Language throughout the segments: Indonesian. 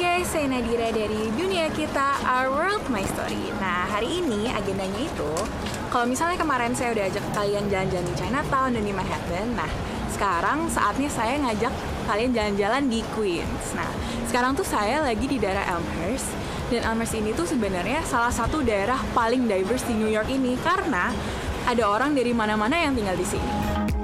guys, saya Nadira dari Dunia Kita, Our World, My Story. Nah, hari ini agendanya itu, kalau misalnya kemarin saya udah ajak kalian jalan-jalan di Chinatown dan di Manhattan, nah sekarang saatnya saya ngajak kalian jalan-jalan di Queens. Nah, sekarang tuh saya lagi di daerah Elmhurst, dan Elmhurst ini tuh sebenarnya salah satu daerah paling diverse di New York ini karena ada orang dari mana-mana yang tinggal di sini.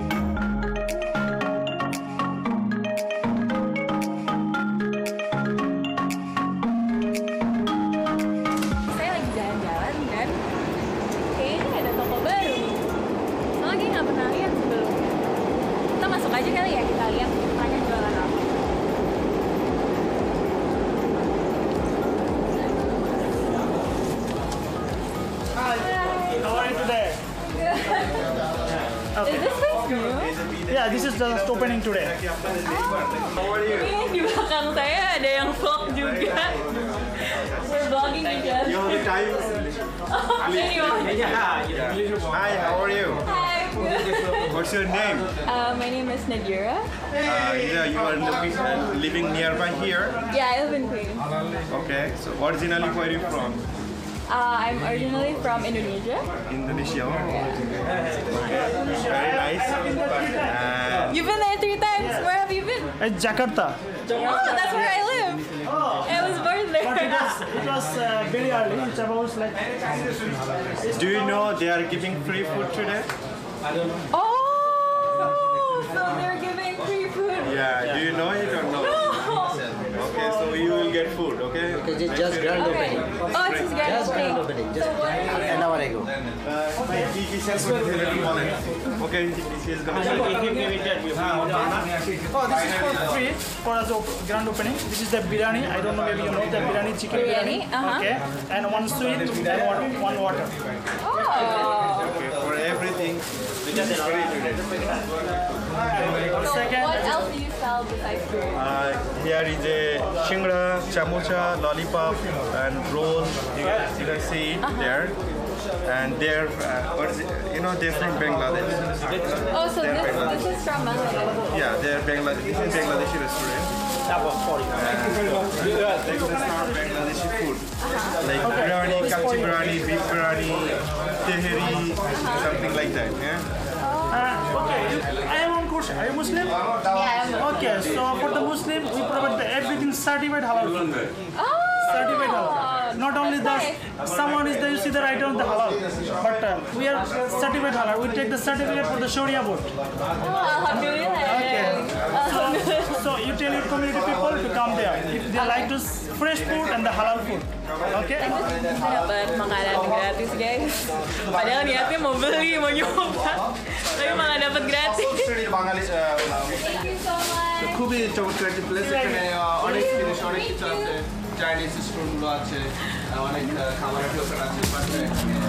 Okay. Is this place new? Yeah, this is just opening today. How are you? Ini di belakang saya ada yang vlog juga. We're vlogging together. You have the time? Anyway. Hi, how are you? Hi. What's your name? My name is Nadira. Yeah, you are living nearby here. Yeah, I live in Queens. Okay, so originally where are you from? I'm originally from Indonesia. Indonesia. Okay, very nice. You've been there 3 times. Where have you been? Jakarta. Oh, that's where I live. I was born there. But it was very early. It's about like. Do you know they are giving free food today? Oh, so they're giving free food. Yeah, do you know it or no? Okay, so you will get food, okay? Okay, just grand Okay. opening. Oh, it's just grand Just grand opening. opening. Just an hour ago. Okay, she is gonna Oh, this is for free for us grand opening. This is the biryani. I don't know, maybe you know the biryani, chicken biryani. Biryani, Okay, and one sweet and one water. Oh. Okay, for everything, this is free today. So Second, what else do you sell besides food? Here is a shingra, chamucha, lollipop, and roll. You can see it there. And they're, they're from Bangladesh. Oh, so this is from Bangladesh. Yeah, they're Bangladesh. This is Bangladeshi restaurant. They serve Bangladeshi food. Like biryani, kapchi biryani, beef biryani, teheri, something like that. Yeah. okay, I have one question. Are you Muslim? Yeah, I'm Okay, so for the Muslim, we provide everything certified halal food. Oh. Certified halal. Not only that, nice. someone is there, you see the right on the halal. But we are certified halal. We take the certificate for the Sharia board. Oh, alhamdulillah. Okay. So you tell your community people to come there. If they like to fresh food and the halal food. Okay? Dapat makanan gratis, guys. Padahal niatnya mau beli, mau nyoba, tapi malah dapat gratis. Thank you so much. খুবই চমৎকার একটা প্লেস এখানে অনেক জিনিস অনেক কিছু আছে চাইনিজ স্টোরগুলো আছে অনেক খাবারের দোকান আছে পাশে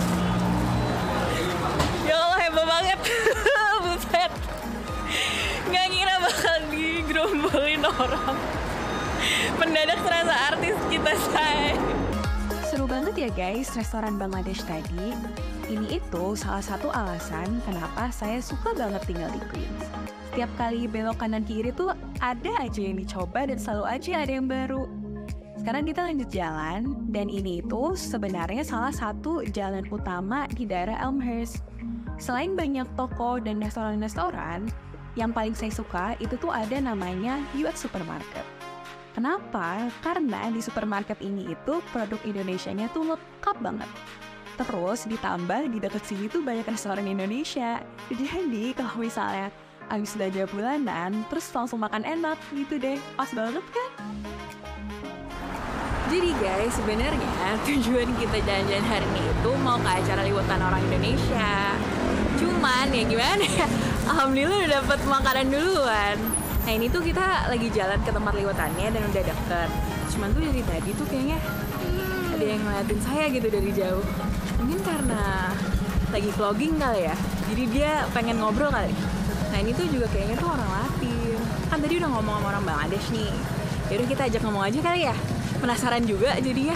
Ya Allah, hebat banget. Buset. Nggak ngira bakal digerombolin orang. Mendadak terasa artis kita, say. Seru banget ya guys, restoran Bangladesh tadi. Ini itu salah satu alasan kenapa saya suka banget tinggal di Queens. Setiap kali belok kanan kiri tuh ada aja yang dicoba dan selalu aja ada yang baru. Sekarang kita lanjut jalan, dan ini itu sebenarnya salah satu jalan utama di daerah Elmhurst. Selain banyak toko dan restoran-restoran, yang paling saya suka itu tuh ada namanya US Supermarket. Kenapa? Karena di supermarket ini itu produk Indonesianya tuh lengkap banget. Terus ditambah di dekat sini tuh banyak restoran Indonesia. Jadi kalau misalnya habis belanja bulanan, terus langsung makan enak gitu deh. Pas banget kan? Jadi guys, sebenarnya tujuan kita jalan-jalan hari ini itu mau ke acara liwetan orang Indonesia. Cuman ya gimana ya, alhamdulillah udah dapet makanan duluan. Nah ini tuh kita lagi jalan ke tempat liwetannya dan udah deket. Cuman tuh dari tadi tuh kayaknya ada yang ngeliatin saya gitu dari jauh. Mungkin karena lagi vlogging kali ya, jadi dia pengen ngobrol kali. Nah ini tuh juga kayaknya tuh orang Latin. Kan tadi udah ngomong sama orang Bangladesh nih. Yaudah kita ajak ngomong aja kali ya. Penasaran juga jadinya.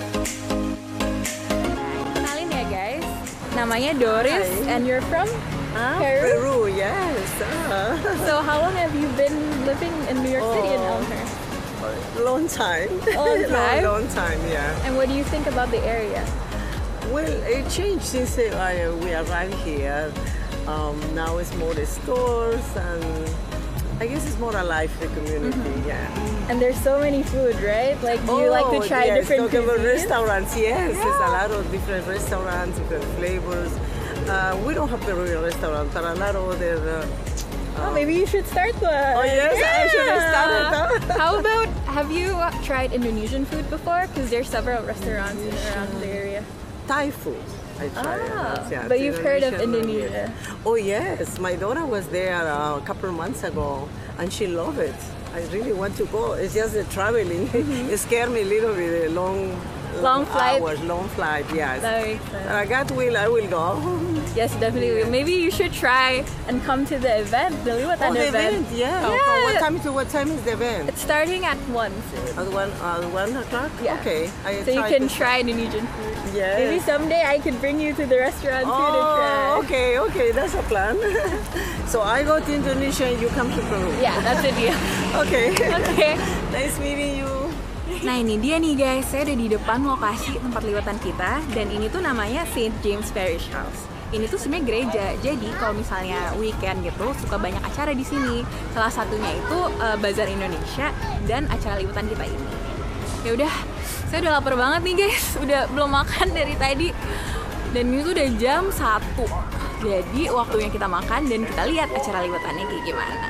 Kenalin ya guys. Namanya Doris. Hi. And you're from? Peru, yes. So how long have you been living in New York City in Elmhurst? Long time. Long time? long time, yeah. And what do you think about the area? Well, it changed since we arrived here. Now it's more the stores and I guess it's more alive, the community, yeah. And there's so many food, right? Like, do you like to try yes, different talking about cuisines? restaurants, yes. There's a lot of different restaurants, different flavors. We don't have Peruvian restaurant, but a lot of other. Maybe you should start one. Oh yes, I should have started. How about, have you tried Indonesian food before? Because there's several restaurants in around the area. Thai food. I tried. But you've heard of Indonesian, Indonesia? Oh yes, my daughter was there a couple of months ago, and she loved it. I really want to go. It's just the traveling. It scared me a little bit. Long flight? Hours, long flight, yes. That makes sense. I will go. Yes, definitely. Maybe you should try and come to the event, the Liwatan the event. yeah. Yeah. From what time to what time is the event? It's starting at 1. At 1 o'clock? Yeah. Okay. So you can try Indonesian food. Yes. Maybe someday I could bring you to the restaurant too to try. Okay, that's a plan. So I go to Indonesia and you come to Peru. Yeah, that's a deal. Okay. Okay. Nice meeting you. Nah ini dia nih guys, saya udah di depan lokasi tempat liwatan kita. Dan ini tuh namanya St. James Parish House. Ini tuh sebenarnya gereja, jadi kalau misalnya weekend gitu suka banyak acara di sini. Salah satunya itu Bazar Indonesia dan acara liwatan kita ini. Ya udah, saya udah lapar banget nih guys, udah belum makan dari tadi. Dan ini tuh udah jam 1. Jadi waktunya kita makan dan kita lihat acara liwatannya kayak gimana.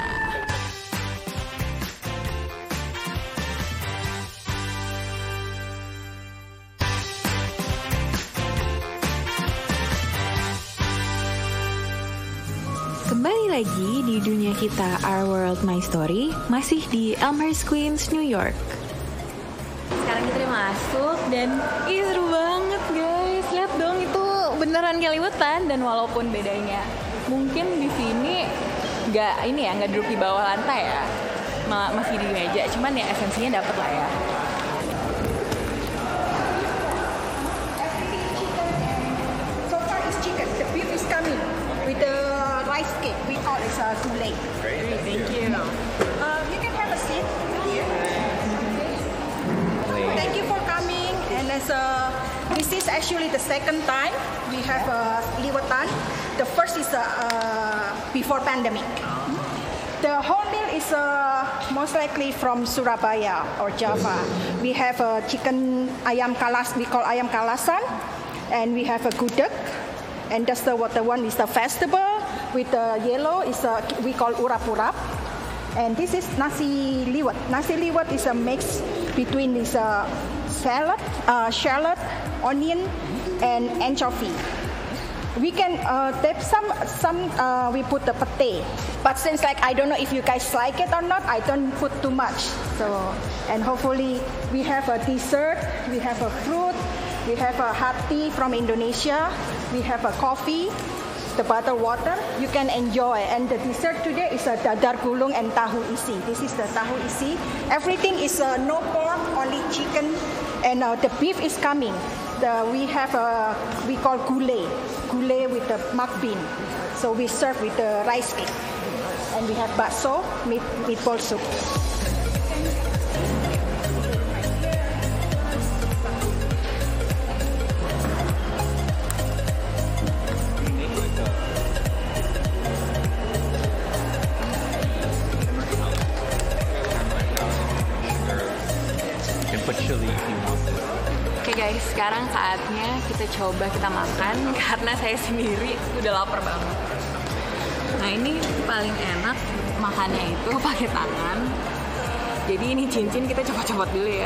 Kembali lagi di dunia kita Our World My Story, masih di Elmhurst, Queens, New York. Sekarang kita udah masuk dan seru banget guys. Lihat dong, itu beneran kayak liwatan. Dan walaupun bedanya mungkin di sini nggak duduk di bawah lantai ya, masih di meja. Cuman ya esensinya dapet lah ya. So far is chicken. The beef is coming with the rice cake. We call it gulai. Great. Thank you. You can have a seat here. Thank you for coming. And this is actually the second time we have liwatan. The first is before pandemic. The whole meal is most likely from Surabaya or Java. We have chicken ayam kalas. We call ayam kalasan, and we have a gudeg. And that's the one is the vegetable with the yellow is we call urap-urap. And this is nasi liwet. Nasi liwet is a mix between this shallot, onion, and anchovy. We can dip some we put the pate, but since I don't know if you guys like it or not, I don't put too much. So, and hopefully we have a dessert, we have a fruit, we have a hot tea from Indonesia, we have a coffee, the butter water. You can enjoy. And the dessert today is a dadar gulung and tahu isi. This is the tahu isi. Everything is no pork, only chicken, and the beef is coming. We have we call gulai with the mung bean. So we serve with the rice cake, and we have bakso, meatball soup. Oke guys, sekarang saatnya kita coba kita makan karena saya sendiri udah lapar banget. Nah ini paling enak makannya itu pakai tangan. Jadi ini cincin kita copot-copot dulu ya.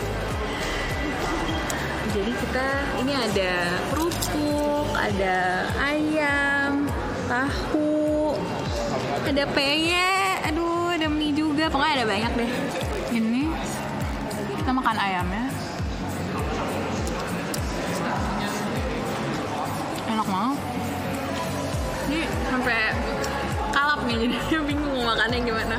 Jadi ini ada kerupuk, ada ayam, tahu, ada peye, aduh ada mie juga, pokoknya ada banyak deh. Ini kita makan ayamnya. Enak banget. Ini sampai kalap nih, jadi bingung mau makannya gimana.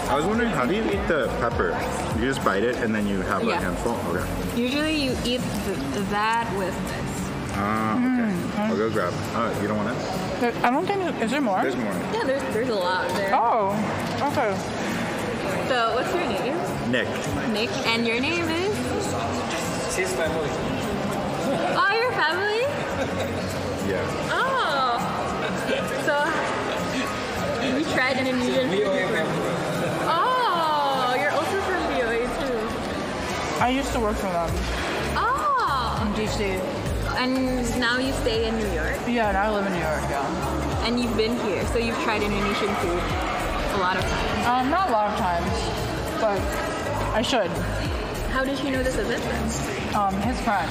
I was wondering, how do you eat the pepper? You just bite it and then you have a Yeah. handful? Okay. Usually you eat that with this. Ah, okay. I'll go grab it. Oh, you don't want it? I don't think, is there more? There's more. Yeah, there's a lot there. Oh, okay. So what's your name? Nick. Nick. And your name is? She's family. Oh, your family? Yeah. Oh. So you tried Indonesian food? Oh, you're also from BOA too. I used to work for them Oh. in DC. And now you stay in New York? Yeah, and I live in New York, yeah. And you've been here, so you've tried Indonesian food a lot of times. Not a lot of times, but I should. How did you know this event then? His friend.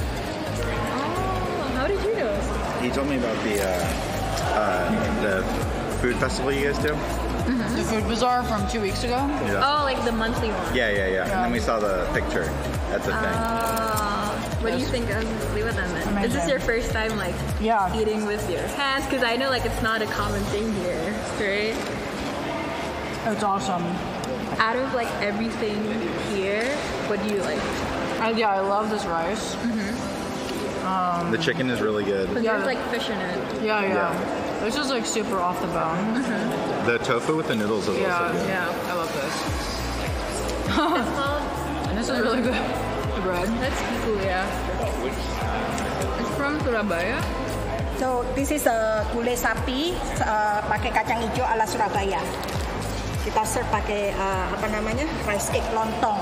Oh, how did you know? He told me about the food festival you guys do. The Food Bazaar from 2 weeks ago. Yeah. Oh, like the monthly one. Yeah. And then we saw the picture at the thing. What do you think of Liwatan then? Is this Amazing. your first time like Yeah. eating with your hands? Because I know like it's not a common thing here, right? It's awesome. Out of like everything here, what do you like? Yeah, I love this rice. The chicken is really good. Because there's like fish in it. Yeah. This is like super off the bone. The tofu with the noodles is also good. Yeah, I love this. It's called. And this is really good. The bread. That's cool, yeah. It's from Surabaya. So this is gulai sapi pakai kacang hijau ala Surabaya. Kita serve pakai rice cake lontong.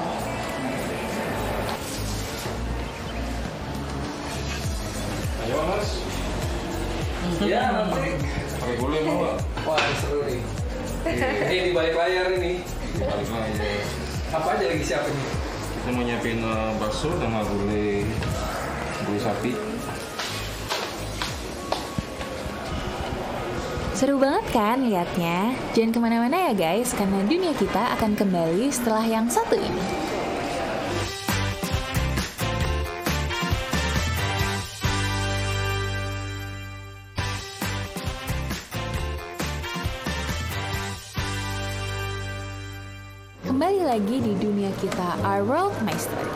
Ayo mas. Ya nanti. Pakai gulai mau nggak? Wah seru nih. Ini di balik layar ini. Di balik layar. Apa aja lagi siapin nih? Kita mau nyiapin bakso sama gulai sapi. Seru banget kan liatnya? Jangan kemana-mana ya guys, karena dunia kita akan kembali setelah yang satu ini. Kembali lagi di dunia kita, Our World My Story.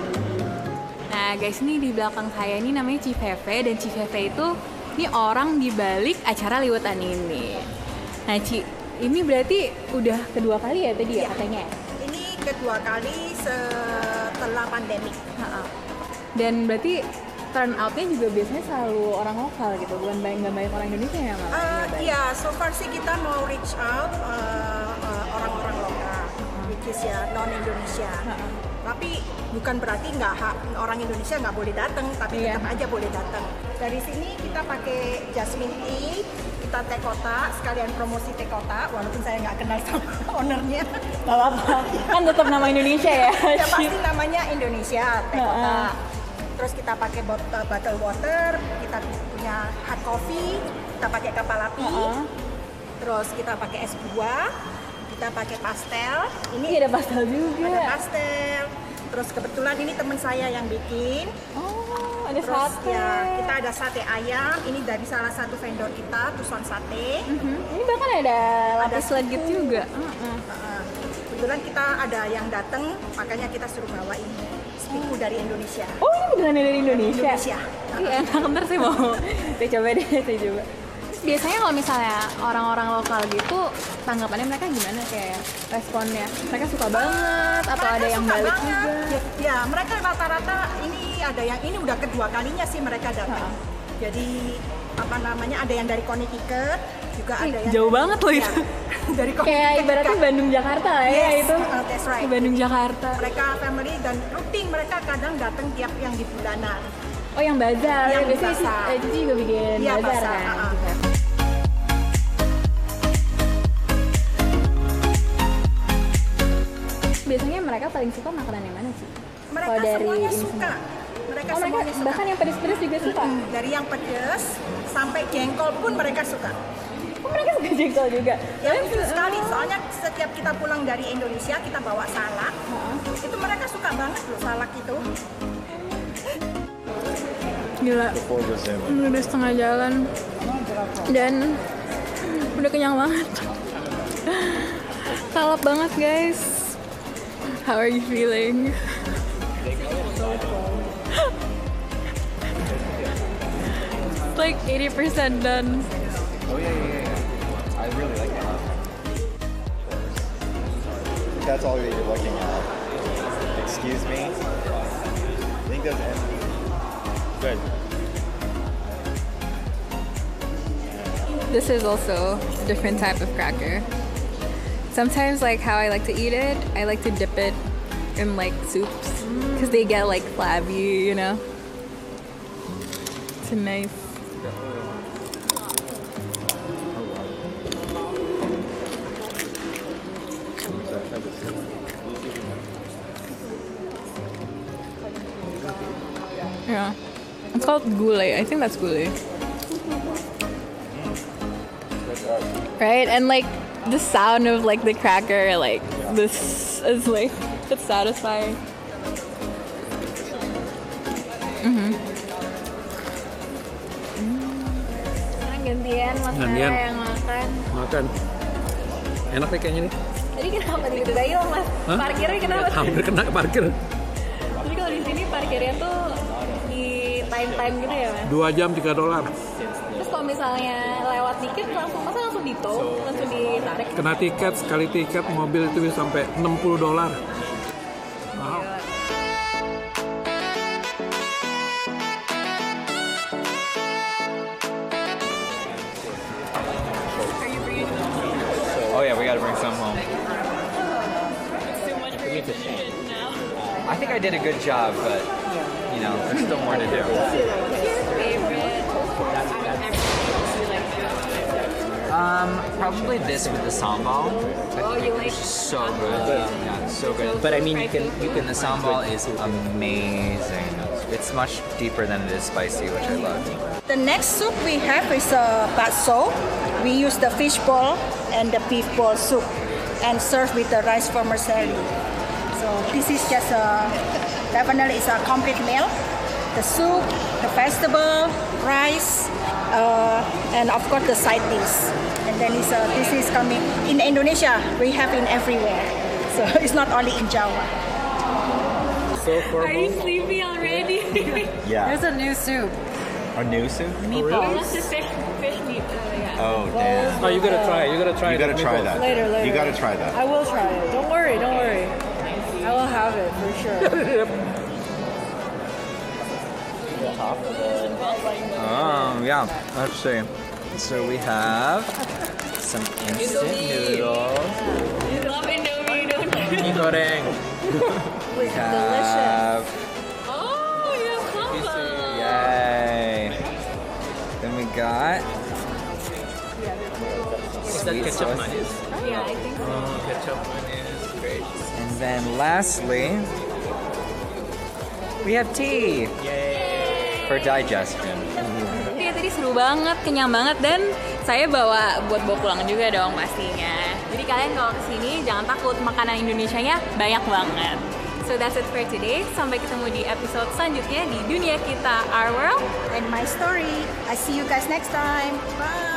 Nah guys, ini di belakang saya ini namanya Cifefe, dan Cifefe itu ini orang di balik acara Liwatan ini. Nah Ci, ini berarti udah kedua kali ya tadi ya katanya? Ini kedua kali setelah pandemi. Dan berarti turnoutnya juga biasanya selalu orang lokal gitu, bukan nggak banyak orang Indonesia yang ngalamin? Iya, so far sih kita mau reach out orang-orang lokal, which is ya non Indonesia. Tapi bukan berarti orang Indonesia nggak boleh datang, tapi tetap aja boleh datang. Dari sini kita pakai jasmine tea, kita teh kotak, sekalian promosi teh kotak, walaupun saya nggak kenal sama ownernya. Gak apa-apa, kan tetap nama Indonesia ya? Ya pasti namanya Indonesia, teh kotak. Terus kita pakai bottle water, kita punya hot coffee, kita pakai kapal api. Terus kita pakai es buah, kita pakai pastel. Ini ada pastel juga. Ada pastel. Terus kebetulan ini teman saya yang bikin. Oh, ada Terus sate. ya, kita ada sate ayam. Ini dari salah satu vendor kita, Tuson Sate. Ini bahkan ada lapis legit juga. Kebetulan kita ada yang datang, makanya kita suruh bawain spiku dari Indonesia. Oh, ini beneran dari Indonesia? Indonesia. Iya, ntar saya mau saya coba deh, saya coba. Terus biasanya kalau misalnya orang-orang lokal gitu, tanggapannya mereka gimana kayak responnya? Mereka suka banget atau Mereka ada yang suka balik banget. juga? Ya, mereka rata-rata ini udah kedua kalinya sih mereka datang. Jadi ada yang dari Connecticut, juga ada yang Jauh banget loh itu. Dari Kayak ibaratnya Bandung Jakarta lah ya itu. That's right. Bandung Jakarta. Mereka family dan rutin mereka kadang datang tiap yang di bulanan. Oh, yang bazar. Yang Biasanya bazar. Cici juga bikin Iya, bazar bazar, kan. Biasanya mereka paling suka makanan yang mana sih? Mereka Kalau dari semuanya ini suka. semua. Mereka Oh, mereka semuanya suka. bahkan yang pedes-pedes juga suka. Dari yang pedas sampai jengkol pun mereka suka. Oh, mereka suka jengkol juga. Ya lucu sekali, soalnya setiap kita pulang dari Indonesia kita bawa salak. Itu mereka suka banget loh salak itu. Gila. Udah setengah jalan dan udah kenyang banget. kalap banget guys. How are you feeling? Like 80% done. Oh yeah. I really like that. That's all that you're looking at. Excuse me. I think that's empty. Good. This is also a different type of cracker. Sometimes, like how I like to eat it, I like to dip it in like soups because they get like flabby, you know. It's nice. Yeah, it's called gulai. I think that's gulai. Right, and like the sound of like the cracker, like this is like it's satisfying. Gantian Mas Nara yang makan. Enak nih kayaknya nih. Tadi kenapa tiba-tiba hilang Mas? Parkirnya kenapa? Hampir kena parkir. Jadi kalau di sini parkirnya tuh di time gitu ya Mas? 2 jam $3. Terus kalau misalnya lewat dikit langsung di tow, langsung ditarik. Kena tiket, sekali tiket mobil itu bisa sampai $60. Wow. Oh yeah, we gotta bring some home. I think I did a good job, but you know, there's still more to do. Probably this with the sambal. Oh, you like So good. Yeah, so good. But I mean, you can. The sambal is amazing. It's much deeper than it is spicy, which I love. The next soup we have is bakso. We use the fish ball and the beef ball soup and serve with the rice vermicelli. So this is just definitely it's a complete meal. The soup, the vegetable, rice, and of course the side dish. And then this is coming in Indonesia. We have it everywhere, so it's not only in Java. So Are you sleepy already? Yeah. There's a new soup. A new soup? It's just fish meat. Yeah. Oh damn. Oh, you gotta try it. You gotta try that. Later. You gotta try that. I will try it. Don't worry. I will have it for sure. Yeah. Let's see. So we have some instant noodles. You love Indomie, don't you? Mie goreng. We have. Oh, you have sambal. Yay. Then we got. Is that ketchup mayonnaise? Yeah, I think so. Ketchup mayonnaise, great. And then lastly, we have tea. Yay. For digestion. Ya, tadi seru banget, kenyang banget, dan saya bawa pulang juga dong pastinya. Jadi kalian kalau kesini jangan takut, makanan Indonesianya banyak banget. So that's it for today. Sampai ketemu di episode selanjutnya di Dunia Kita, Our World And my story. I see you guys next time. Bye.